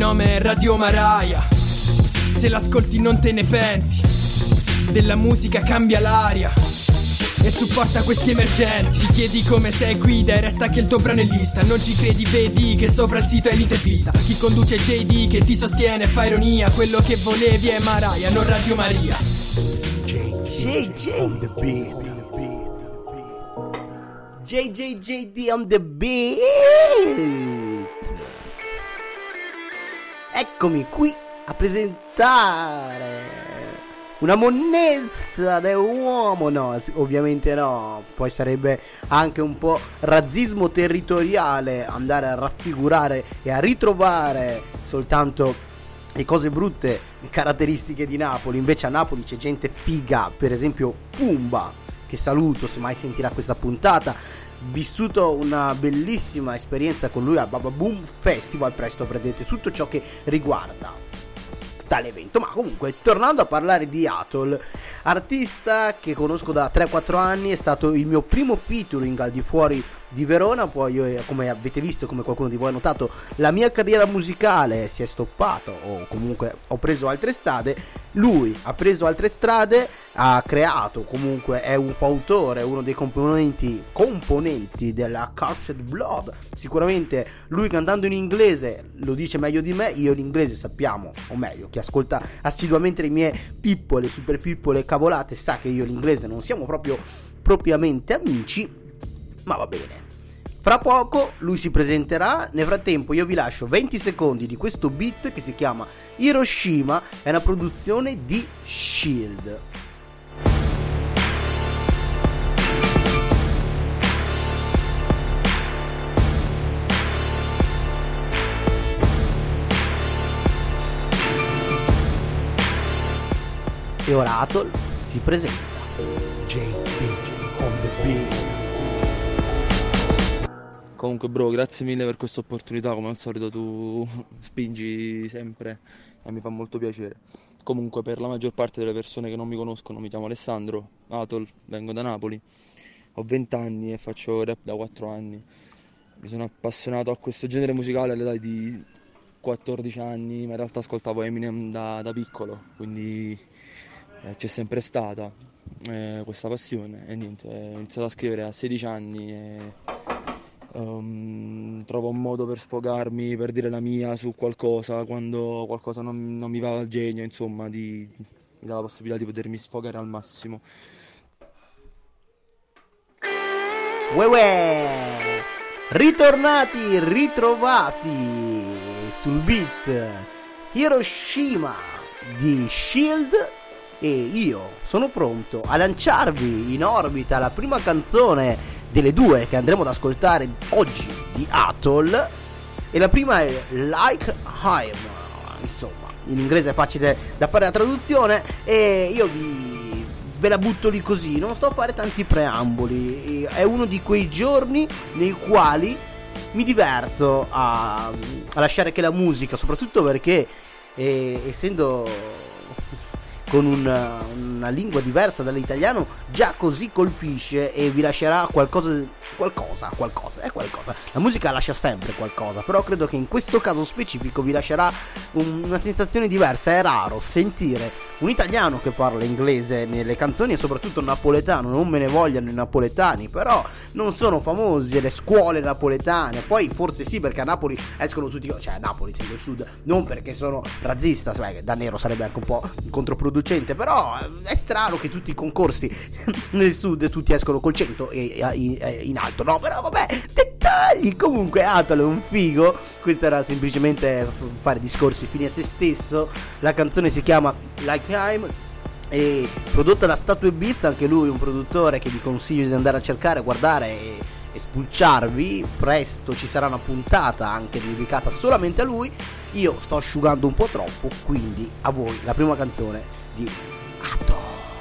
nome è Radio Maraia. Se l'ascolti non te ne penti, della musica cambia l'aria e supporta questi emergenti. Ti chiedi come sei, guida e resta che il tuo brano è lista. Non ci credi, vedi che sopra il sito è l'intervista. Chi conduce è JD che ti sostiene, fa ironia. Quello che volevi è Maraia, non Radio Maria. JJ on the beat. JJJD on the beat. Eccomi qui a presentare una monnezza dell'uomo. No, ovviamente no. Poi sarebbe anche un po' razzismo territoriale andare a raffigurare e a ritrovare soltanto le cose brutte caratteristiche di Napoli. Invece a Napoli c'è gente figa, per esempio Pumba, che saluto se mai sentirà questa puntata. Vissuto una bellissima esperienza con lui al Baba Boom Festival, presto avrete tutto ciò che riguarda tale evento. Ma comunque, tornando a parlare di Atoll, artista che conosco da 3-4 anni, è stato il mio primo featuring al di fuori di Verona. Poi io, come avete visto, come qualcuno di voi ha notato, la mia carriera musicale si è stoppata, o comunque ho preso altre strade. Lui ha preso altre strade, ha creato, comunque è un fautore, uno dei componenti della Cursed Blood. Sicuramente lui, cantando in inglese, lo dice meglio di me. Io l'inglese, sappiamo, o meglio, chi ascolta assiduamente le mie piccole, super piccole cavolate sa che io l'inglese non siamo proprio propriamente amici, ma va bene. Fra poco lui si presenterà. Nel frattempo io vi lascio 20 secondi di questo beat che si chiama Hiroshima. È una produzione di Shield. E ora Atoll si presenta. JD on the beat. Comunque bro, grazie mille per questa opportunità, come al solito tu spingi sempre e mi fa molto piacere. Comunque, per la maggior parte delle persone che non mi conoscono, mi chiamo Alessandro, Atoll, vengo da Napoli, ho 20 anni e faccio rap da 4 anni. Mi sono appassionato a questo genere musicale all'età di 14 anni, ma in realtà ascoltavo Eminem da piccolo, quindi c'è sempre stata questa passione e niente, ho iniziato a scrivere a 16 anni e trovo un modo per sfogarmi, per dire la mia su qualcosa, quando qualcosa non mi va al genio, insomma, mi dà la possibilità di potermi sfogare al massimo. Uè, ritornati, ritrovati sul beat Hiroshima di Shield, e io sono pronto a lanciarvi in orbita la prima canzone delle due che andremo ad ascoltare oggi di Atoll. E la prima è Like I'm, insomma in inglese è facile da fare la traduzione e io ve la butto lì così, non sto a fare tanti preamboli. È uno di quei giorni nei quali mi diverto a lasciare che la musica, soprattutto perché essendo con una lingua diversa dall'italiano, già così colpisce e vi lascerà qualcosa. La musica lascia sempre qualcosa, però credo che in questo caso specifico vi lascerà una sensazione diversa. È raro sentire un italiano che parla inglese nelle canzoni, e soprattutto napoletano. Non me ne vogliano i napoletani, però non sono famosi le scuole napoletane. Poi forse sì, perché a Napoli escono tutti, cioè a Napoli, essendo il sud, non perché sono razzista, da nero sarebbe anche un po' controproducente, però è strano che tutti i concorsi nel sud tutti escono col 100 e in alto, no? Però vabbè, dettagli. Comunque Atoll è un figo. Questo era semplicemente fare discorsi fini a se stesso. La canzone si chiama Like I'm e prodotta da Statue Beats, anche lui un produttore che vi consiglio di andare a cercare, guardare e spulciarvi. Presto ci sarà una puntata anche dedicata solamente a lui. Io sto asciugando un po' troppo, quindi a voi la prima canzone di Atoll.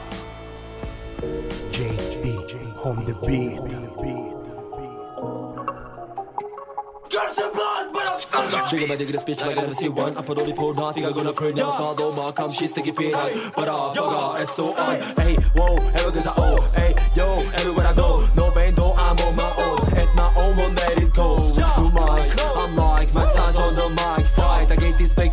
JD on the beat. Bigger by the greatest bitch like I never see one. I put only pour nothing, I'm gonna pray never smile though. My come, she's sticky pin. But it's so on. Hey, whoa, ever cause I owe. Hey, yo, everywhere I go. No pain though, I'm on my own. At my own, won't let it go. You mic, I'm like, my time's on the mic. Fight, I get this fake.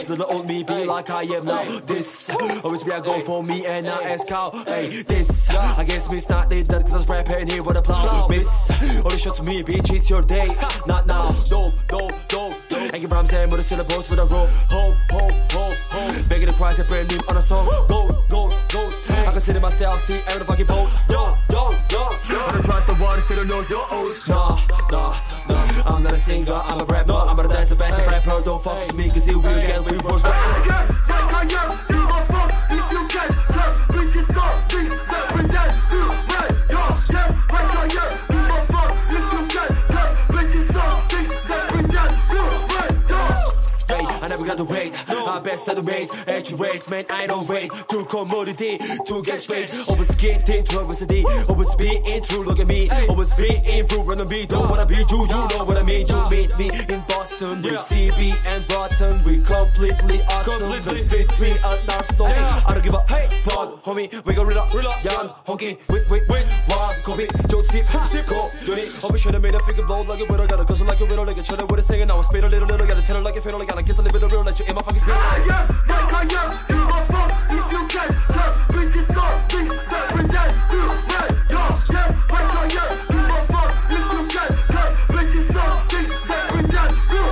little old me be like I am now. This always be a goal for me and I ask how. Hey, this I guess me it's not that cause I was rapping here with a plow. Miss, only show to me, bitch, it's your day. Not now, no. And give rhymes and with the syllables with a roll. Ho. Begging the price, a brand new on a song. Go. I consider my style, still out of the fucking boat. Yo. I don't trust the one, still knows your oath. Nah. I'm not a singer, I'm a rapper. I'm a dancer, better rapper. Don't fuck with me, cause you will get reverse rap. I am, you are fuck if you can. Cause bitches are things that pretend to right. Yeah, right on here. You are fuck if you can. Cause bitches are things that pretend to right. Hey, I never got to wait. I best to wait, actuate, man, I don't wait. To commodity, to get straight. Always get into adversity. Always be in true, look at me. Always be in true, run on me. Don't wanna be you know what I mean. You meet me in Boston with CB and Rotten. We completely awesome. They fit me at Narstone. I don't give a fuck, homie. We go real up, young, honky, with one copy. Don't sip, go, Johnny. I'll be sure to make a figure blow like a widow. Gotta cuss like a widow, like a cheddar with a singer. Now I spit a little, gotta tell her like a fiddle. Gotta kiss a little bit of real, let you in my fucking spirit. I am, you are fuck if you can. Cause bitches are things that pretend to right. Yeah, right on here. You are fuck if you can. Cause bitches are things that pretend to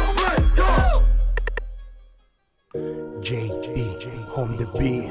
right. JB on the beat.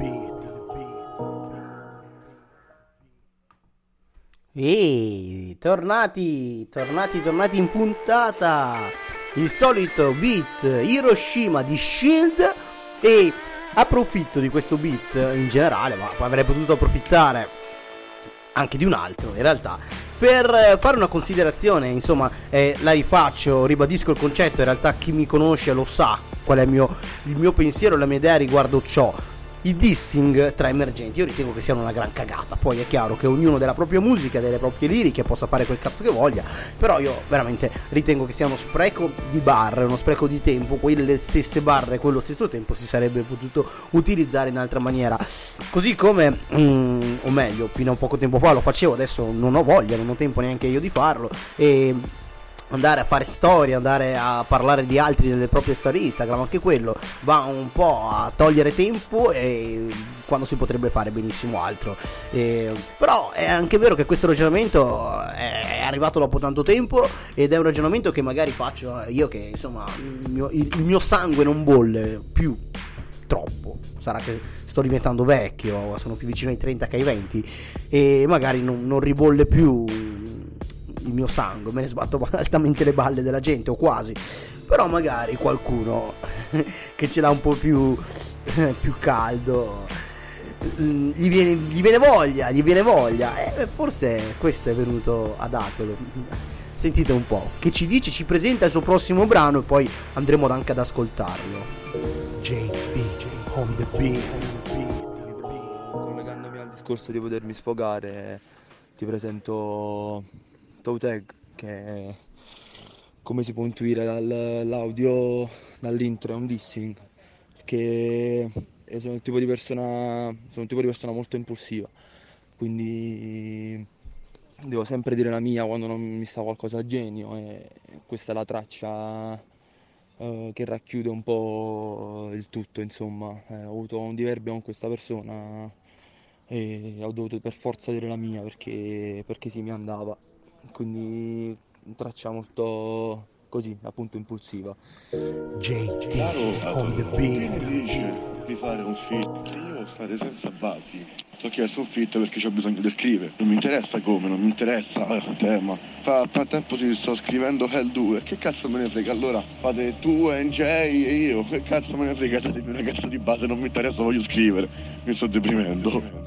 E tornati in puntata. Il solito beat Hiroshima di Shield. E approfitto di questo beat in generale, ma avrei potuto approfittare anche di un altro in realtà, per fare una considerazione. Insomma, la rifaccio, ribadisco il concetto. In realtà chi mi conosce lo sa qual è il mio pensiero, la mia idea riguardo ciò. I dissing tra emergenti io ritengo che siano una gran cagata. Poi è chiaro che ognuno della propria musica, delle proprie liriche, possa fare quel cazzo che voglia, però io veramente ritengo che sia uno spreco di barre, uno spreco di tempo. Quelle stesse barre, quello stesso tempo si sarebbe potuto utilizzare in altra maniera. Così come o meglio, fino a poco tempo fa lo facevo, adesso non ho voglia, non ho tempo neanche io di farlo. E andare a fare storie, andare a parlare di altri nelle proprie storie Instagram, anche quello va un po' a togliere tempo, e quando si potrebbe fare benissimo altro. Però è anche vero che questo ragionamento è arrivato dopo tanto tempo, ed è un ragionamento che magari faccio io, che insomma il mio sangue non bolle più troppo. Sarà che sto diventando vecchio, sono più vicino ai 30 che ai 20, e magari non ribolle più il mio sangue, me ne sbatto altamente le balle della gente, o quasi. Però magari qualcuno che ce l'ha un po' più caldo, gli viene voglia, e forse questo è venuto ad Atolo. Sentite un po' che ci dice, ci presenta il suo prossimo brano, e poi andremo anche ad ascoltarlo. JB on the beat. Collegandomi al discorso di potermi sfogare, ti presento Tauteg, che come si può intuire dall'audio, dall'intro, è un dissing, perché sono un tipo di persona molto impulsiva, quindi devo sempre dire la mia quando non mi sta qualcosa a genio, e questa è la traccia che racchiude un po' il tutto. Insomma, ho avuto un diverbio con questa persona e ho dovuto per forza dire la mia, perché sì, mi andava. Quindi traccia molto così, appunto, impulsiva. JB on the beat. Di fare un feat, io devo stare senza basi. Ti ho chiesto un feat perché ho bisogno di scrivere. Non mi interessa come, non mi interessa il tema. Fa tempo che sto scrivendo Hell 2. Che cazzo me ne frega? Allora fate tu, NJ e io. Che cazzo me ne frega? Datemi una cazzo di base, non mi interessa, voglio scrivere. Mi sto deprimendo.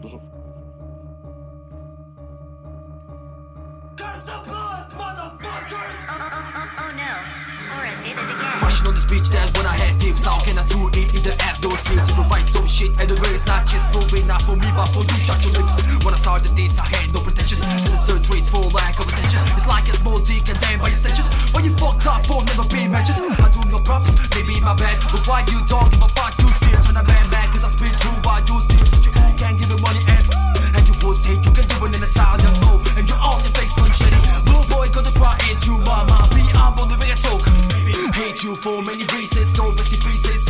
On this beach, that's when I had tips. How can I do it in the app? Those kids who provide some shit, and the way it's not just proving, not for me, but for you. Shut your lips. When I started this, I had no pretensions. And the surgery's for lack of attention. It's like a small dick and damn by extensions. When you fucked up for never be matches. I do no props, maybe my bad. But why you don't give a fuck? You still turn a man back, cause I spit true. Why you still such a who can't give you money and you would say you can do it in Italian, no. And you're on your face, punch shitty. Little boy, gonna cry into mama. Be humble, never get talk. Hate you for many reasons, don't rest in pieces.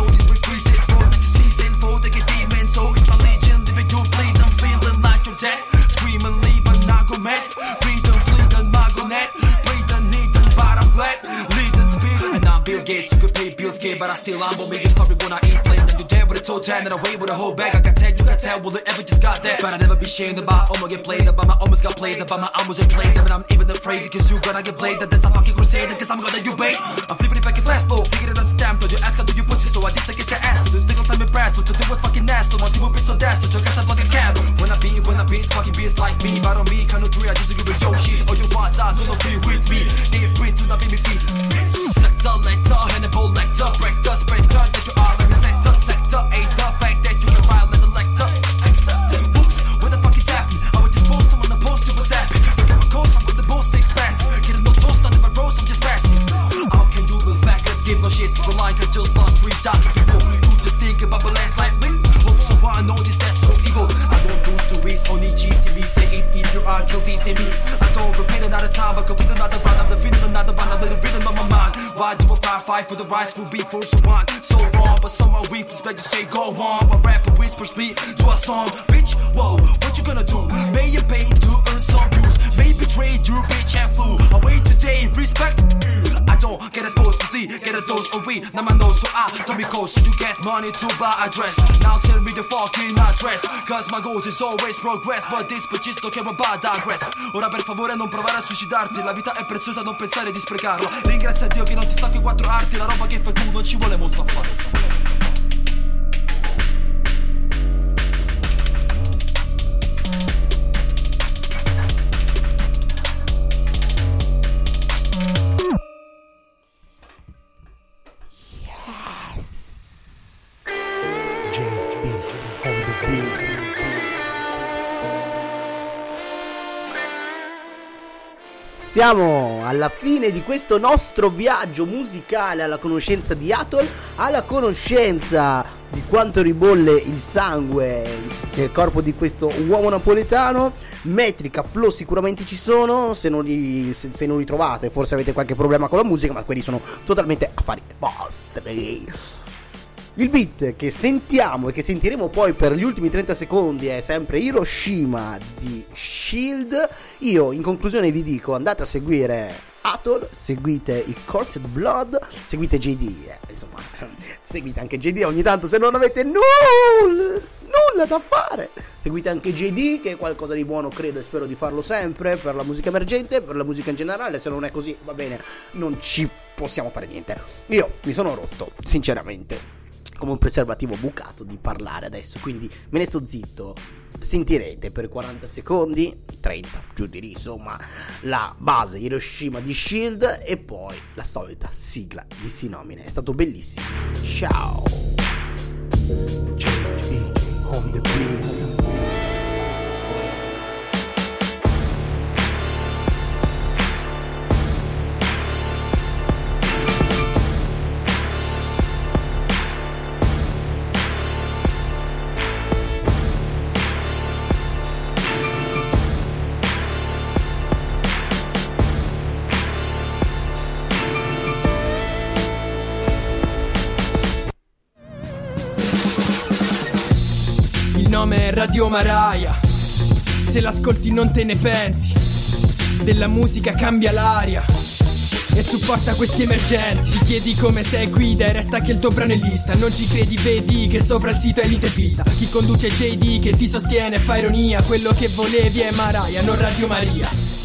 but I still humble me. You sorry when I eat late, then you dead with a toe tan and away with a whole bag. I can tell, you can tell, will it ever just got that? But I never be shamed about I'ma get played about my almost got played about my almost ain't played. And I'm even afraid because you gonna get played. That there's a fucking crusade, cause I'm gonna you bait. I'm flipping if I can flash low, figure that's damn. Told you ask how do you pussy, so I just against the ass. So the single time impressed, so today was fucking nasty. Want you will be so dash, so joke as I fucking can. When I beat, fucking beats like me. But on me, can't no tree, I just give it your shit. Or you want out, do not free with me. They've been to not be me feet. Sector, lector, Hannibal lector, break the spectre that you are in the sector, ain't the fact that you can violate the lector. Whoops, what the fuck is happening? I was just posting on the post, it was happening. Look at my coast, I'm with the most expensive. Getting no toast, not even roast, I'm just passing. How can you look back, let's give no shit. For like I just lost 3,000 people. You just think about the last life, man. Hope so I know this, that's so evil. I don't do stories, only GCB. Say it if you are guilty, see me. I don't repeat another time, but complete another round. I'm defeating another one, I'm living written on my mind. Why do a power fight for the rights for beat for so on? So wrong, but somehow we expect to say go on. But rapper whispers me to a song. Bitch, whoa, what you gonna do? Pay and pay to earn some views. May betray your bitch and flew away today, respect. I don't get exposed to see, get a dose of weed. Now my nose, so I don't be cold, so you get money to buy a dress. Now tell me the fucking address, cause my goals is always progress. But this bitch don't care about digress. Ora per favore non provare a suicidarti. La vita è preziosa, non pensare di sprecarla. Ringrazia Dio che non ti stacchi quattro arti. La roba che fai tu non ci vuole molto a fare. Siamo alla fine di questo nostro viaggio musicale alla conoscenza di Atoll, alla conoscenza di quanto ribolle il sangue nel corpo di questo uomo napoletano. Metrica, flow sicuramente ci sono, se non li trovate forse avete qualche problema con la musica, ma quelli sono totalmente affari vostri. Il beat che sentiamo e che sentiremo poi per gli ultimi 30 secondi è sempre Hiroshima di Shield. Io in conclusione vi dico: andate a seguire Atoll, seguite i Coursed Blood, seguite JD, insomma seguite anche JD ogni tanto se non avete nulla da fare. Seguite anche JD, che è qualcosa di buono, credo e spero di farlo sempre per la musica emergente, per la musica in generale. Se non è così va bene, non ci possiamo fare niente. Io mi sono rotto sinceramente come un preservativo bucato di parlare adesso, quindi me ne sto zitto. Sentirete per 40 secondi, 30 giù di lì, insomma, la base Hiroshima di Shield e poi la solita sigla di Sinomine. È stato bellissimo. Ciao. On the beat. Radio Maraia, se l'ascolti non te ne penti, della musica cambia l'aria e supporta questi emergenti. Ti chiedi come sei, guida e resta che il tuo brano è lista. Non ci credi, vedi che sopra il sito è l'intervista. Chi conduce JD che ti sostiene fa ironia. Quello che volevi è Maraia, non Radio Maria.